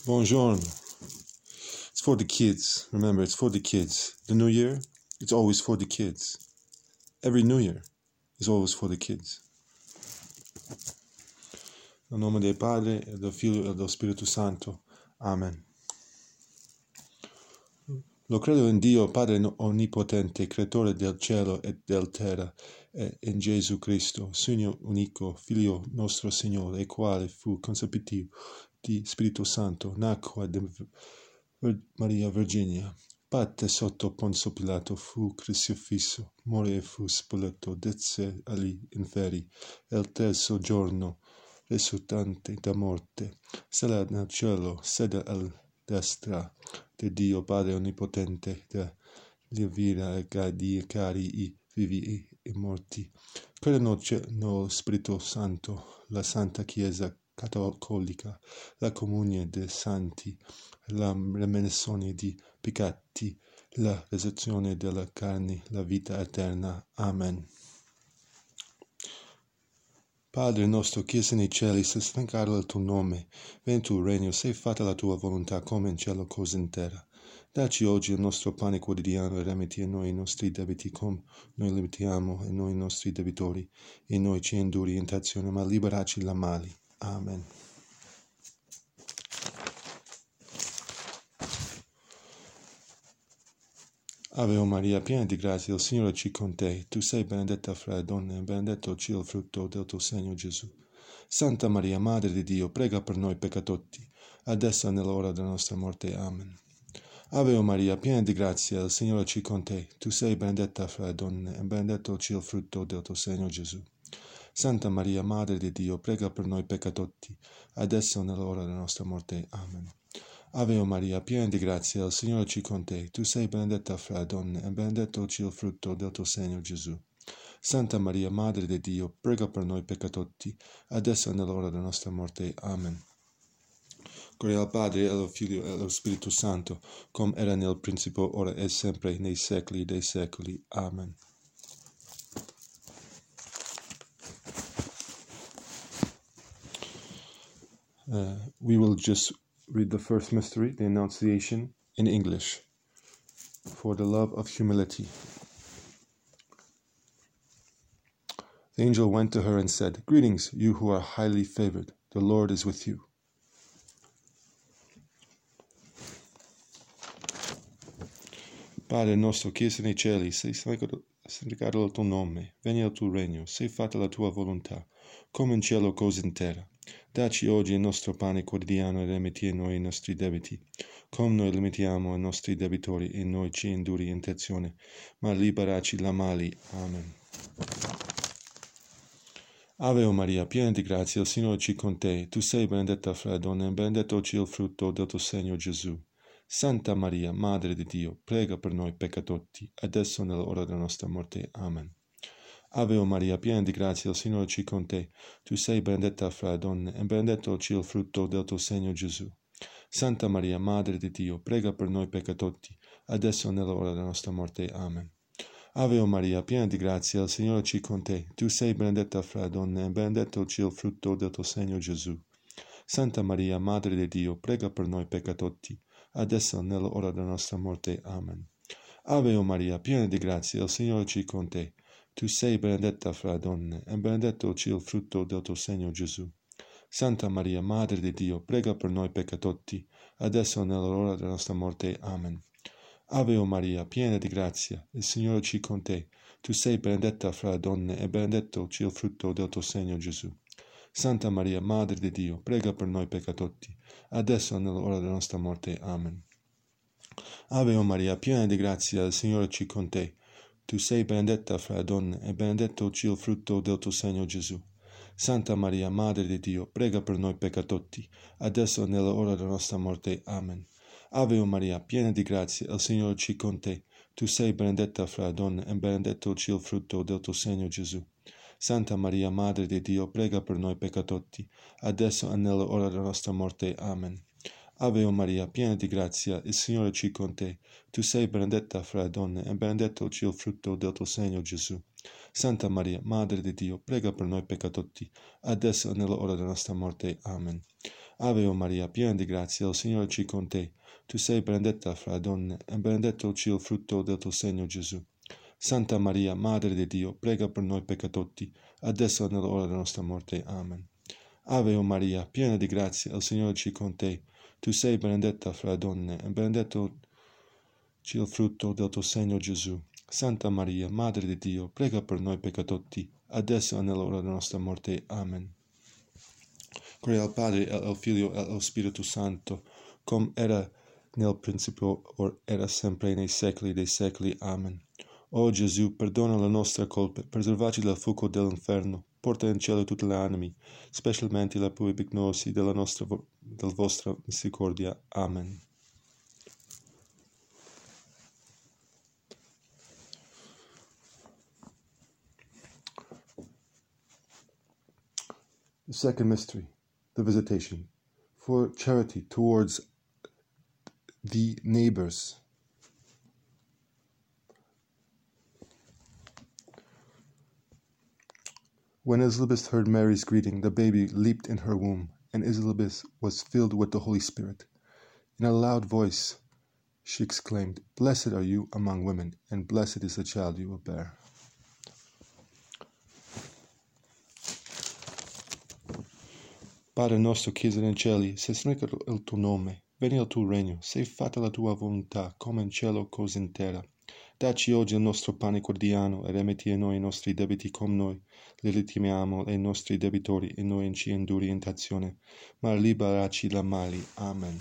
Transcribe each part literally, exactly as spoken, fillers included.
Buongiorno. It's for the kids. Remember, it's for the kids. The New Year, it's always for the kids. Every New Year is always for the kids. Nel nome del Padre, e del Figlio e dello Spirito Santo. Amen. Lo credo in Dio, Padre Onnipotente, Creatore del cielo e della terra, e in Gesù Cristo, Signore unico, Figlio nostro Signore, il quale fu concepito di Spirito Santo, nacque da Maria Virginia, patte sotto Ponzio Pilato, fu crocifisso, morì e fu sepolto, desce agli inferi, e il terzo giorno, risuscitante da morte, sarà nel cielo, sede alla destra di Dio Padre Onnipotente, da lievira e giudicare i vivi e i morti. Credo nello Spirito Santo, la Santa Chiesa Cattolica, la comunione dei santi, la remissione di peccati, la resurrezione della carne, la vita eterna. Amen. Padre nostro che sei nei cieli, sia santificato il tuo nome, venga il tuo regno, sia fatta la tua volontà come in cielo così in terra. Dacci oggi il nostro pane quotidiano e rimetti a noi i nostri debiti come noi limitiamo a noi i nostri debitori, e noi ci induri in tentazione, ma liberaci da male. Amen. Ave Maria, piena di grazia, il Signore è con te. Tu sei benedetta fra le donne, e benedetto è il frutto del tuo seno, Gesù. Santa Maria, Madre di Dio, prega per noi peccatori, adesso e nell'ora della nostra morte. Amen. Ave Maria, piena di grazia, il Signore è con te. Tu sei benedetta fra le donne, e benedetto è il frutto del tuo seno, Gesù. Santa Maria, Madre di Dio, prega per noi peccatori, adesso e nell'ora della nostra morte. Amen. Ave Maria, piena di grazia, il Signore è con te. Tu sei benedetta fra le donne, e benedetto è il frutto del tuo seno, Gesù. Santa Maria, Madre di Dio, prega per noi peccatori, adesso e nell'ora della nostra morte. Amen. Gloria al Padre, e al Figlio, e allo Spirito Santo, come era nel principio, ora e sempre, nei secoli dei secoli. Amen. Uh, we will just read the first mystery, the Annunciation, in English, for the love of humility. The angel went to her and said, "Greetings, you who are highly favored. The Lord is with you." Padre nostro che sei nei cieli, sia santificato il tuo nome, venga il tuo regno, sia fatta la tua volontà, come in cielo così in terra. Dacci oggi il nostro pane quotidiano e rimetti a noi i nostri debiti, come noi limitiamo ai nostri debitori, e noi ci induri in tentazione, ma liberaci da male. Amen. Ave Maria, piena di grazia, il Signore è con te. Tu sei benedetta fra le donne, e benedetto è il frutto del tuo seno, Gesù. Santa Maria, Madre di Dio, prega per noi peccatori, adesso e nell'ora della nostra morte. Amen. Ave Maria, piena di grazia, il Signore è con te. Tu sei benedetta fra le donne, e benedetto è il frutto del tuo seno, Gesù. Santa Maria, Madre di Dio, prega per noi peccatori, adesso e nell'ora della nostra morte. Amen. Ave Maria, piena di grazia, il Signore è con te. Tu sei benedetta fra le donne, e benedetto è il frutto del tuo seno, Gesù. Santa Maria, Madre di Dio, prega per noi peccatori, adesso e nell'ora della nostra morte. Amen. Ave Maria, piena di grazia, il Signore è con te. Tu sei benedetta fra le donne, e benedetto è il frutto del tuo seno, Gesù. Santa Maria, Madre di Dio, prega per noi peccatori, adesso e nell'ora della nostra morte. Amen. Ave Maria, piena di grazia, il Signore è con te. Tu sei benedetta fra le donne, e benedetto è il frutto del tuo seno, Gesù. Santa Maria, Madre di Dio, prega per noi peccatori, adesso e nell'ora della nostra morte. Amen. Ave Maria, piena di grazia, il Signore è con te. Tu sei benedetta fra le donne, e benedetto è il frutto del tuo seno, Gesù. Santa Maria, Madre di Dio, prega per noi peccatori, adesso e nell'ora della nostra morte. Amen. Ave Maria, piena di grazia, il Signore è con te. Tu sei benedetta fra le donne, e benedetto è il frutto del tuo seno, Gesù. Santa Maria, Madre di Dio, prega per noi peccatori, adesso e nell'ora della nostra morte. Amen. Ave Maria, piena di grazia, il Signore è con te. Tu sei benedetta fra le donne, e benedetto è il frutto del tuo seno, Gesù. Santa Maria, Madre di Dio, prega per noi peccatori, adesso e nell'ora della nostra morte. Amen. Ave o Maria, piena di grazia, il Signore è con te. Tu sei benedetta fra le donne, e benedetto il frutto del tuo seno, Gesù. Santa Maria, Madre di Dio, prega per noi peccatori, adesso e nell'ora della nostra morte. Amen. Ave o Maria, piena di grazia, il Signore è con te. Tu sei benedetta fra le donne, e benedetto il frutto del tuo seno, Gesù. Santa Maria, Madre di Dio, prega per noi peccatori, adesso e nell'ora della nostra morte. Amen. Gloria al Padre, e al Figlio, e allo Spirito Santo, come era nel principio, or era sempre, nei secoli dei secoli. Amen. O Gesù, perdona le nostre colpe, preservaci dal fuoco dell'inferno, porta in cielo tutte le anime, specialmente le più bignose della nostra, della vostra misericordia. Amen. The second mystery, the visitation, for charity towards the neighbors. When Elizabeth heard Mary's greeting, the baby leaped in her womb, and Elizabeth was filled with the Holy Spirit. In a loud voice, she exclaimed, "Blessed are you among women, and blessed is the child you will bear." Padre nostro che sei nei cieli, sia santificato il tuo nome, venga il tuo regno, sia fatta la tua volontà, come in cielo così in terra. Dacci oggi il nostro pane quotidiano, e rimetti a noi i nostri debiti come noi li ritimiamo ai nostri debitori, e noi non ci indurre in tentazione, ma liberaci dal male. Amen.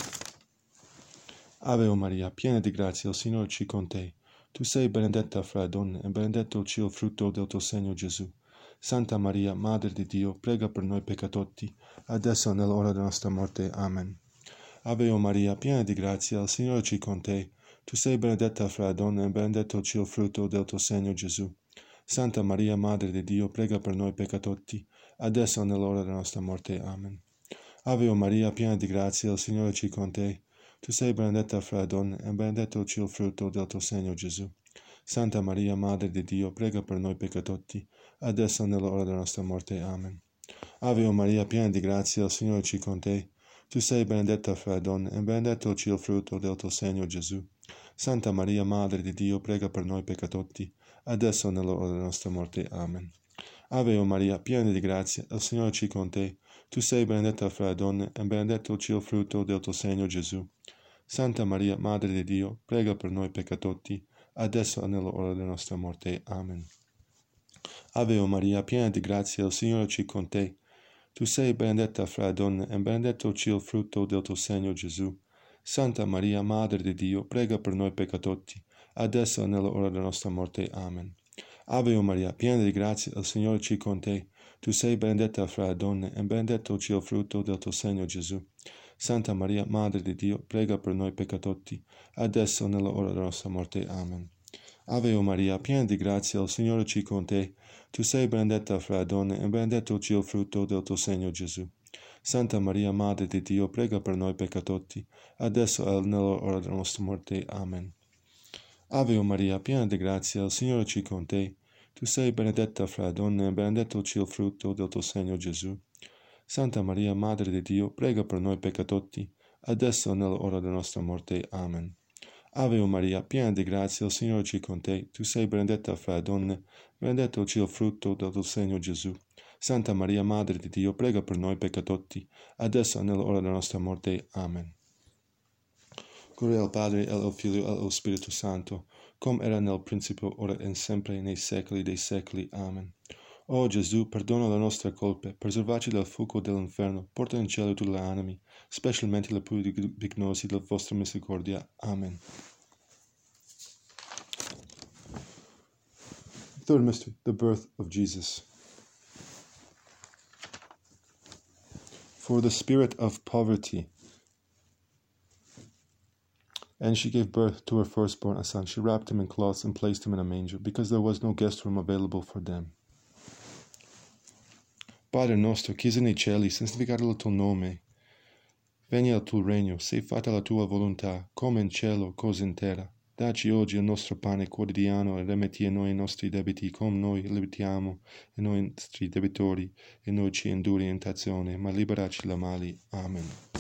Ave o Maria, piena di grazia, il Signore è con te. Tu sei benedetta fra le donne, e benedetto il frutto del tuo seno, Gesù. Santa Maria, Madre di Dio, prega per noi peccatori, adesso e nell'ora della nostra morte. Amen. Ave o Maria, piena di grazia, il Signore è con te. Tu sei benedetta fra le donne, e benedetto il frutto del tuo seno, Gesù. Santa Maria, Madre di Dio, prega per noi peccatori, adesso e nell'ora della nostra morte. Amen. Ave o Maria, piena di grazia, il Signore è con te. Tu sei benedetta fra le donne, e benedetto il frutto del tuo seno, Gesù. Santa Maria, Madre di Dio, prega per noi peccatori, adesso e nell'ora della nostra morte. Amen. Ave o Maria, piena di grazia, il Signore è con te. Tu sei benedetta fra le donne, e benedetto il frutto del tuo seno, Gesù. Santa Maria, Madre di Dio, prega per noi peccatori, adesso e nell'ora della nostra morte. Amen. Ave o Maria, piena di grazia, il Signore è con te. Tu sei benedetta fra le donne, e benedetto il frutto del tuo seno, Gesù. Santa Maria, Madre di Dio, prega per noi peccatori, adesso e nell'ora della nostra morte. Amen. Ave o Maria, piena di grazia, il Signore è con te. Tu sei benedetta fra le donne, e benedetto il frutto del tuo seno, Gesù. Santa Maria, Madre di Dio, prega per noi peccatori, adesso e nell'ora della nostra morte. Amen. Ave o Maria, piena di grazia, il Signore è con te. Tu sei benedetta fra le donne, e benedetto il frutto del tuo seno, Gesù. Santa Maria, Madre di Dio, prega per noi peccatori, adesso e nell'ora della nostra morte. Amen. Ave o Maria, piena di grazia, il Signore è con te. Tu sei benedetta fra le donne, e benedetto il frutto del tuo seno, Gesù. Santa Maria, Madre di Dio, prega per noi peccatori, adesso e nell'ora della nostra morte. Amen. Ave o Maria, piena di grazia, il Signore è con te. Tu sei benedetta fra le donne, e benedetto il frutto del tuo seno, Gesù. Santa Maria, Madre di Dio, prega per noi peccatori, adesso e nell'ora della nostra morte. Amen. Ave o Maria, piena di grazia, il Signore è con te. Tu sei benedetta fra le donne, benedetto il frutto del tuo seno, Gesù. Santa Maria, Madre di Dio, prega per noi peccatori, adesso e nell'ora della nostra morte. Amen. Gloria al Padre, e al Figlio, e allo Spirito Santo, come era nel principio, ora e sempre, nei secoli dei secoli. Amen. O Gesù, perdona le nostre colpe, preservaci dal fuoco dell'inferno, porta in cielo tutte le anime, specialmente le più bignose della vostra misericordia. Amen. Third mystery, the birth of Jesus. For the spirit of poverty. And she gave birth to her firstborn, a son. She wrapped him in cloths and placed him in a manger, because there was no guest room available for them. Padre nostro, che sei nei cieli, santificato il tuo nome. Venga il tuo regno, sia fatta la tua volontà, come in cielo, così in terra. Dacci oggi il nostro pane quotidiano e rimetti a noi i nostri debiti, come noi limitiamo i nostri debitori, e non ci indurre in tentazione, ma liberaci da mali. Amen.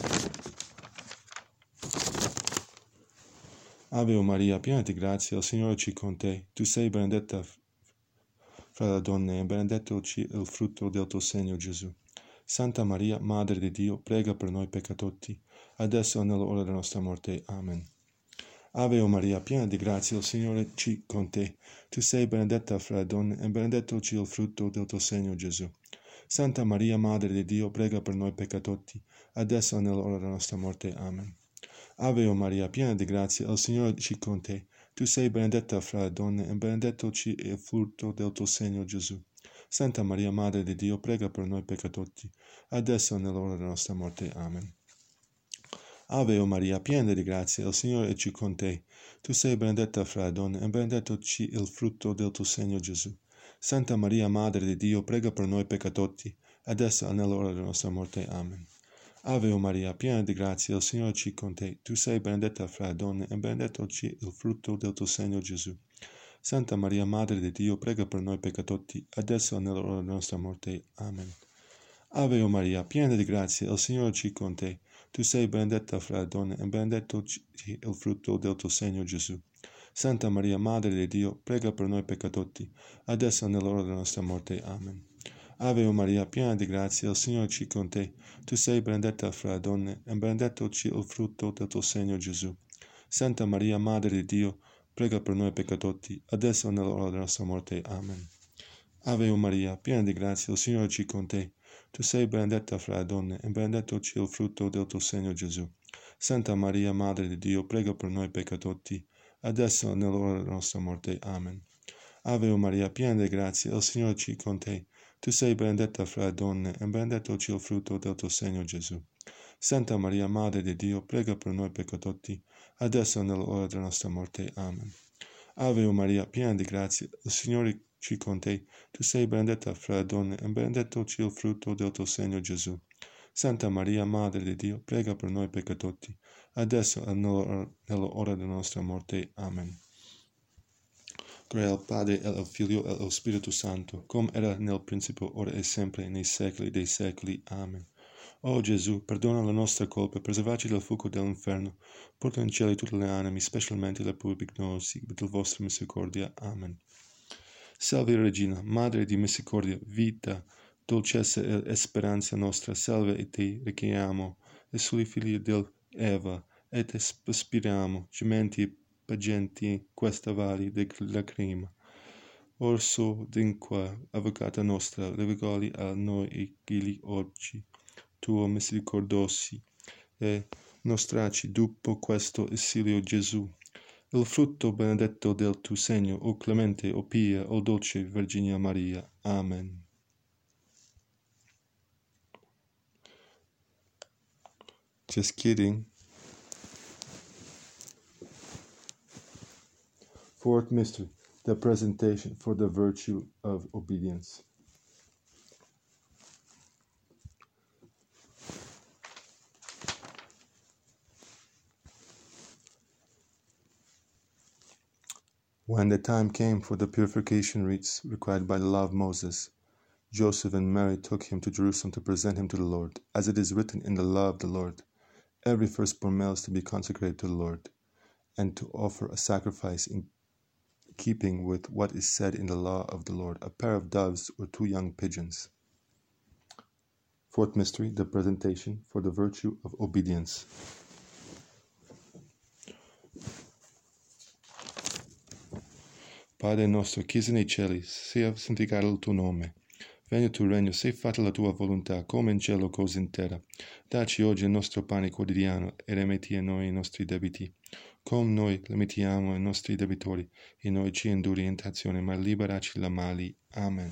Ave Maria, piena di grazia, il Signore è con te. Tu sei benedetta fra le donne, e benedetto il frutto del tuo seno, Gesù. Santa Maria, Madre di Dio, prega per noi peccatori, adesso e nell'ora della nostra morte. Amen. Ave Maria, piena di grazia, il Signore è con te. Tu sei benedetta fra le donne, e benedetto il frutto del tuo seno, Gesù. Santa Maria, Madre di Dio, prega per noi peccatori, adesso e nell'ora della nostra morte. Amen. Ave Maria, piena di grazia, il Signore è con te. Tu sei benedetta fra le donne, e benedetto il frutto del tuo seno, Gesù. Santa Maria, Madre di Dio, prega per noi peccatori, adesso e nell'ora della nostra morte. Amen. Ave Maria, piena di grazia, il Signore è con te. Tu sei benedetta fra le donne, e benedetto il frutto del tuo seno, Gesù. Santa Maria, Madre di Dio, prega per noi peccatori, adesso e nell'ora della nostra morte. Amen. Ave Maria, piena di grazia, il Signore è con te. Tu sei benedetta fra le donne, e benedetto il frutto del tuo seno, Gesù. Santa Maria, Madre di Dio, prega per noi peccatori, adesso e nell'ora della nostra morte. Amen. Ave Maria, piena di grazia, il Signore è con te. Tu sei benedetta fra le donne, e benedetto il frutto del tuo seno, Gesù. Santa Maria, Madre di Dio, prega per noi peccatori, adesso e nell'ora della nostra morte. Amen. Ave Maria, piena di grazia, il Signore è con te. Tu sei benedetta fra le donne, e benedetto il frutto del tuo seno, Gesù. Santa Maria, Madre di Dio, prega per noi peccatori, adesso e nell'ora della nostra morte. Amen. Ave Maria, piena di grazia, il Signore è con te. Tu sei benedetta fra le donne, e benedetto il frutto del tuo seno, Gesù. Santa Maria, Madre di Dio, prega per noi peccatori, adesso e nell'ora della nostra morte. Amen. Ave Maria, piena di grazia, il Signore è con te. Tu sei benedetta fra le donne, e benedetto il frutto del tuo seno, Gesù. Santa Maria, Madre di Dio, prega per noi peccatori, adesso e nell'ora della nostra morte. Amen. Ave Maria, piena di grazia, il Signore è con te. Tu sei benedetta fra le donne, e benedetto il frutto del tuo seno, Gesù. Santa Maria, Madre di Dio, prega per noi peccatori, adesso e nell'ora della nostra morte. Amen. Gloria al Padre, e al Figlio, e allo Spirito Santo, come era nel principio, ora e sempre, nei secoli dei secoli. Amen. O Gesù, perdona le nostre colpe, preservaci dal fuoco dell'inferno, porta in cielo tutte le anime, specialmente le più bignose, per la vostra misericordia. Amen. Salve Regina, Madre di misericordia, vita, dolcezza e speranza nostra, salve e te richiamo, e soli figli dell'Eva, et aspiriamo, gementi pagenti questa valley de lacrima. Orso dinque, avvocata nostra, levigali a noi e gili oggi, tuo misericordosi, e nostraci dopo questo esilio Gesù. Il frutto benedetto del tuo seno, o clemente, o pia, o dolce Virginia Maria. Amen. Just kidding. Fourth mystery, the presentation for the virtue of obedience. When the time came for the purification rites required by the law of Moses, Joseph and Mary took him to Jerusalem to present him to the Lord, as it is written in the law of the Lord. Every firstborn male is to be consecrated to the Lord, and to offer a sacrifice in keeping with what is said in the law of the Lord, a pair of doves or two young pigeons. Fourth mystery, the presentation for the virtue of obedience. Padre nostro, che sei nei cieli, sia santificato il tuo nome. Venga il tuo regno, sia fatta la tua volontà, come in cielo così in terra. Dacci oggi il nostro pane quotidiano, e rimetti a noi i nostri debiti, come noi rimettiamo ai nostri debitori, e non ci indurre in tentazione, ma liberaci da mali. Amen.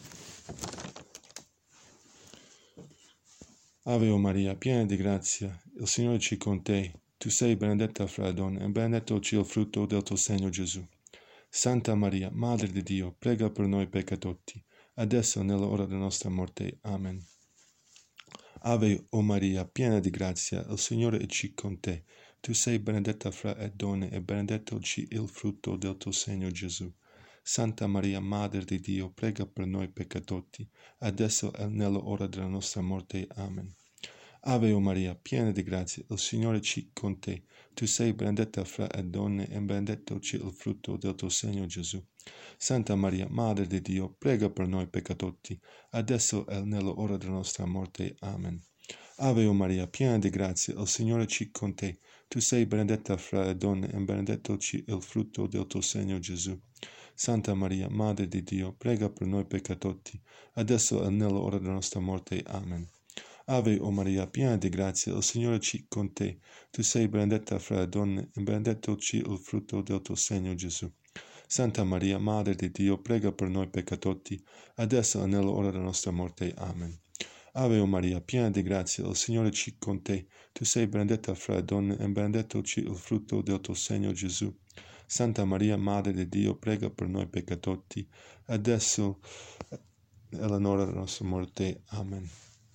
Ave Maria, piena di grazia, il Signore è con te. Tu sei benedetta fra le donne, e benedetto il frutto del tuo seno, Gesù. Santa Maria, Madre di Dio, prega per noi peccatori, adesso e nell'ora della nostra morte. Amen. Ave o Maria, piena di grazia, il Signore è con te. Tu sei benedetta fra le donne e benedetto il frutto del tuo seno, Gesù. Santa Maria, Madre di Dio, prega per noi peccatori, adesso e nell'ora della nostra morte. Amen. Ave o Maria, piena di grazia, il Signore è con te. Tu sei benedetta fra le donne e benedetto il frutto del tuo seno, Gesù. Santa Maria, Madre di Dio, prega per noi peccatori, adesso e nell'ora della nostra morte. Amen. Ave o Maria, piena di grazia, il Signore è con te. Tu sei benedetta fra le donne e benedetto il frutto del tuo seno, Gesù. Santa Maria, Madre di Dio, prega per noi peccatori, adesso e nell'ora della nostra morte. Amen. Ave o Maria, piena di grazia, il Signore è con te. Tu sei benedetta fra le donne e benedetto il frutto del tuo seno, Gesù. Santa Maria, Madre di Dio, prega per noi peccatori, adesso e nell'ora della nostra morte. Amen. Ave o Maria, piena di grazia, il Signore è con te. Tu sei benedetta fra le donne e benedetto il frutto del tuo seno, Gesù. Santa Maria, Madre di Dio, prega per noi peccatori, adesso e nell'ora della nostra morte. Amen.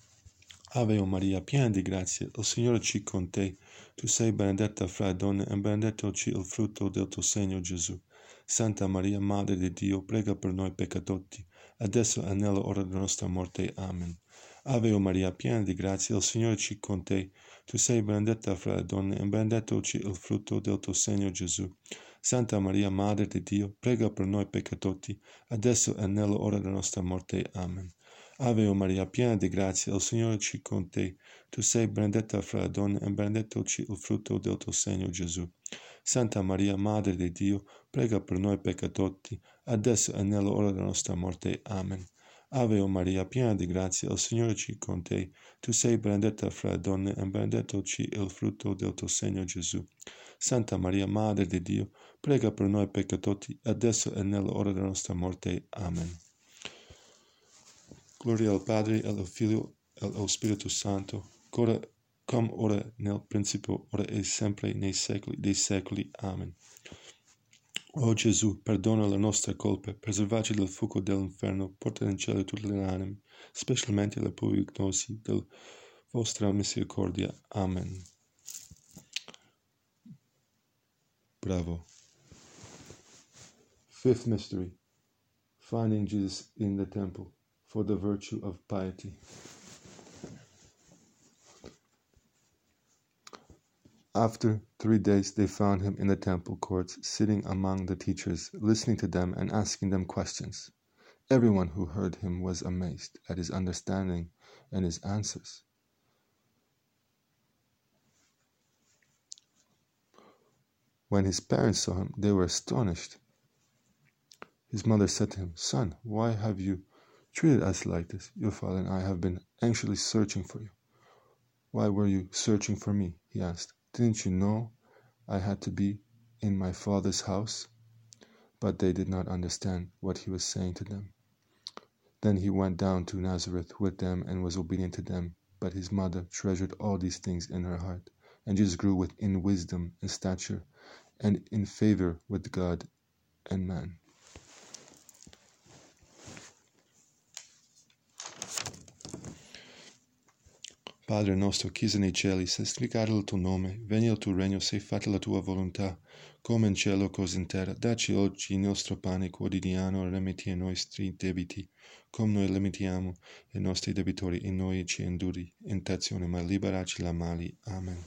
Ave o Maria, piena di grazia, il Signore è con te. Tu sei benedetta fra le donne e benedetto il frutto del tuo seno, Gesù. Santa Maria, Madre di Dio, prega per noi peccatori, adesso e nell'ora della nostra morte. Amen. Ave o Maria, piena di grazia, il Signore è con te. Tu sei benedetta fra le donne e benedetto il frutto del tuo seno, Gesù. Santa Maria, Madre di Dio, prega per noi peccatori, adesso e nell'ora della nostra morte. Amen. Ave o Maria, piena di grazia, il Signore è con te. Tu sei benedetta fra le donne e benedetto il frutto del tuo seno, Gesù. Santa Maria, Madre di Dio, prega per noi peccatori, adesso e nell'ora della nostra morte. Amen. Ave o Maria, piena di grazia, il Signore è con te. Tu sei benedetta fra le donne e benedetto il frutto del tuo seno, Gesù. Santa Maria, Madre di Dio, prega per noi peccatori, adesso e nell'ora della nostra morte. Amen. Gloria al Padre, al Figlio e allo Spirito Santo, ora, come ora nel principio, ora e sempre, nei secoli dei secoli. Amen. O Gesù, perdona le nostre colpe, preservaci dal fuoco dell'inferno, porta in cielo tutte le anime, specialmente le più ignosi della vostra misericordia. Amen. Bravo. Fifth mystery, finding Jesus in the temple for the virtue of piety. After three days they found him in the temple courts, sitting among the teachers, listening to them and asking them questions. Everyone who heard him was amazed at his understanding and his answers. When his parents saw him, they were astonished. His mother said to him, "Son, why have you treated us like this? Your father and I have been anxiously searching for you." "Why were you searching for me?" he asked. "Didn't you know I had to be in my father's house?" But they did not understand what he was saying to them. Then he went down to Nazareth with them and was obedient to them. But his mother treasured all these things in her heart. And Jesus grew in wisdom and stature and in favor with God and man. Padre nostro, che sei nei cieli, santificato il tuo nome, venga il tuo regno, sia fatta la tua volontà, come in cielo così in terra. Dacci oggi il nostro pane quotidiano, rimetti i nostri debiti, come noi rimettiamo i nostri debitori, e noi ci indurre in tentazione, ma liberaci da male. Amen.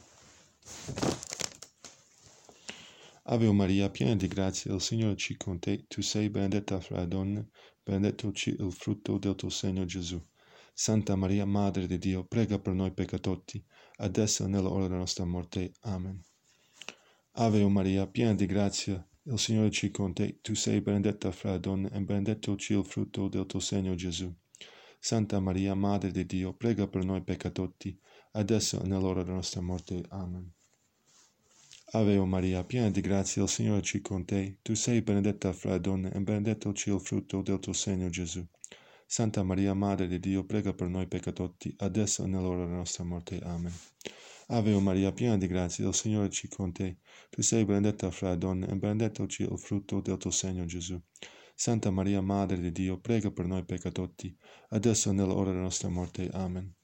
Ave o Maria, piena di grazia, il Signore è con te. Tu sei benedetta fra le donne, benedetto il frutto del tuo seno, Gesù. Santa Maria, Madre di Dio, prega per noi peccatori, adesso e nell'ora della nostra morte. Amen. Ave o Maria, piena di grazia, il Signore è con te. Tu sei benedetta fra le donne e benedetto il frutto del tuo seno, Gesù. Santa Maria, Madre di Dio, prega per noi peccatori, adesso e nell'ora della nostra morte. Amen. Ave o Maria, piena di grazia, il Signore è con te. Tu sei benedetta fra le donne e benedetto il frutto del tuo seno, Gesù. Santa Maria, Madre di Dio, prega per noi peccatori, adesso e nell'ora della nostra morte. Amen. Ave o Maria, piena di grazia, il Signore è con te. Tu sei benedetta fra le donne e benedetto il frutto del tuo seno, Gesù. Santa Maria, Madre di Dio, prega per noi peccatori, adesso e nell'ora della nostra morte. Amen.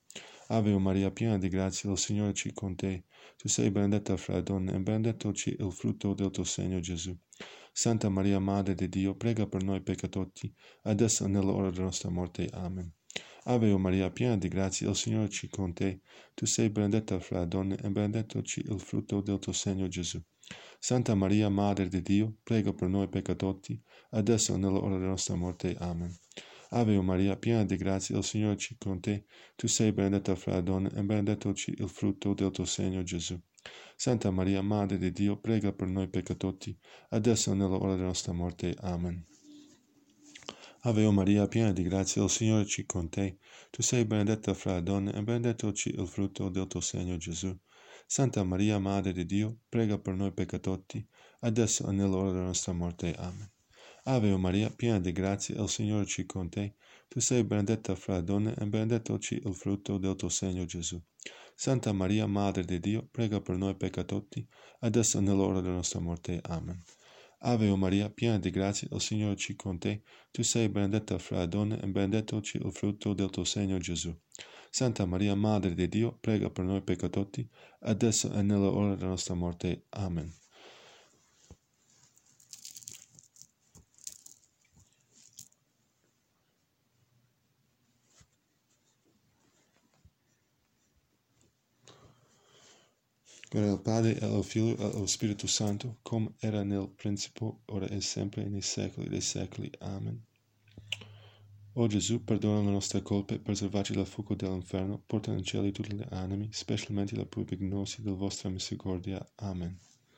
Ave Maria, piena di grazia, il Signore è con te. Tu sei benedetta fra le donne, e benedetto il frutto del tuo seno, Gesù. Santa Maria, Madre di Dio, prega per noi peccatori, adesso e nell'ora della nostra morte. Amen. Ave Maria, piena di grazia, il Signore è con te. Tu sei benedetta fra le donne, e benedetto il frutto del tuo seno, Gesù. Santa Maria, Madre di Dio, prega per noi peccatori, adesso e nell'ora della nostra morte. Amen. Ave Maria, piena di grazia, il Signore è con te. Tu sei benedetta fra le donne, e benedetto il frutto del tuo seno, Gesù. Santa Maria, Madre di Dio, prega per noi peccatori, adesso e nell'ora della nostra morte. Amen. Ave Maria, piena di grazia, il Signore è con te. Tu sei benedetta fra le donne, e benedetto il frutto del tuo seno, Gesù. Santa Maria, Madre di Dio, prega per noi peccatori, adesso e nell'ora della nostra morte. Amen. Ave Maria, piena di grazia, il Signore è con te. Tu sei benedetta fra le donne, e benedetto il frutto del tuo seno, Gesù. Santa Maria, Madre di Dio, prega per noi peccatori, adesso e nell'ora della nostra morte. Amen. Ave Maria, piena di grazia, il Signore è con te. Tu sei benedetta fra le donne, e benedetto il frutto del tuo seno, Gesù. Santa Maria, Madre di Dio, prega per noi peccatori, adesso e nell'ora della nostra morte. Amen. Gloria al Padre, e al Figlio, e allo Spirito Santo, come era nel principio, ora e sempre, nei secoli dei secoli. Amen. O Gesù, perdona le nostre colpe, preservaci dal fuoco dell'inferno, porta in cielo tutte le anime, specialmente la più vignosa della vostra misericordia. Amen.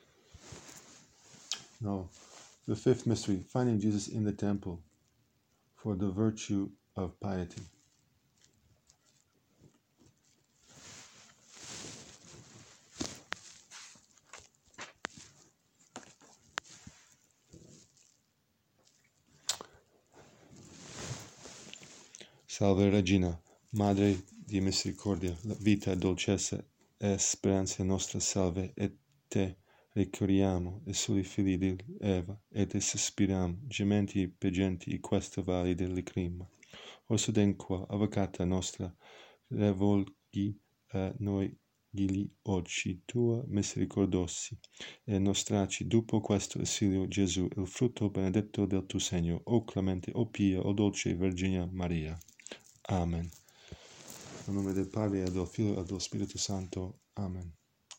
Now, the fifth mystery, finding Jesus in the temple for the virtue of piety. Salve Regina, Madre di misericordia, la vita, dolcezza e speranza nostra, salve, e te ricorriamo, e soli figli di Eva, e te sospiriamo, gementi e piangenti in questa valle delle lacrime. Orso denqua, avvocata nostra, rivolgi a noi gli occhi tua misericordiosi, e nostraci dopo questo esilio Gesù, il frutto benedetto del tuo segno, o clemente, o pia, o dolce Vergine Maria. Amen. Nel nome del Padre, e del Figlio, e dello Spirito Santo. Amen.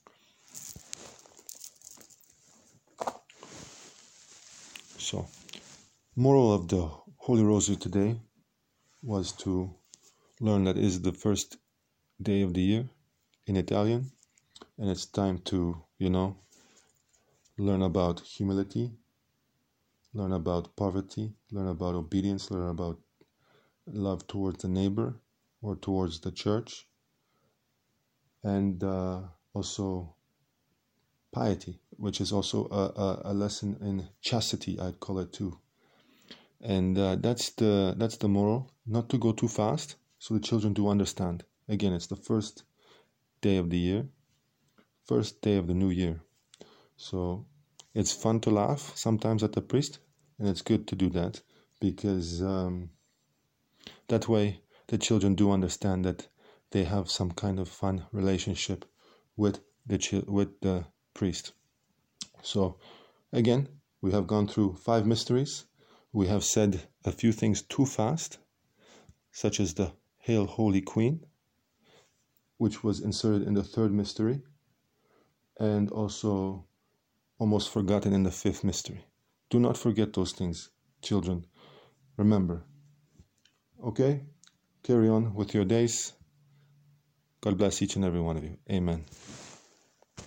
So, moral of the Holy Rosary today was to learn that it is the first day of the year in Italian, and it's time to, you know, learn about humility, learn about poverty, learn about obedience, learn about love towards the neighbor or towards the church, and uh, also piety, which is also a, a, a lesson in chastity, I'd call it too. And uh, that's the that's the moral, not to go too fast, so the children do understand. Again, it's the first day of the year, first day of the new year. So it's fun to laugh sometimes at the priest, and it's good to do that, because um, that way the children do understand that they have some kind of fun relationship with the chi- with the priest. So again, we have gone through five mysteries. We have said a few things too fast, such as the Hail Holy Queen, which was inserted in the third mystery, and also almost forgotten in the fifth mystery. Do not forget those things, children. Remember. Okay? Carry on with your days. God bless each and every one of you. Amen.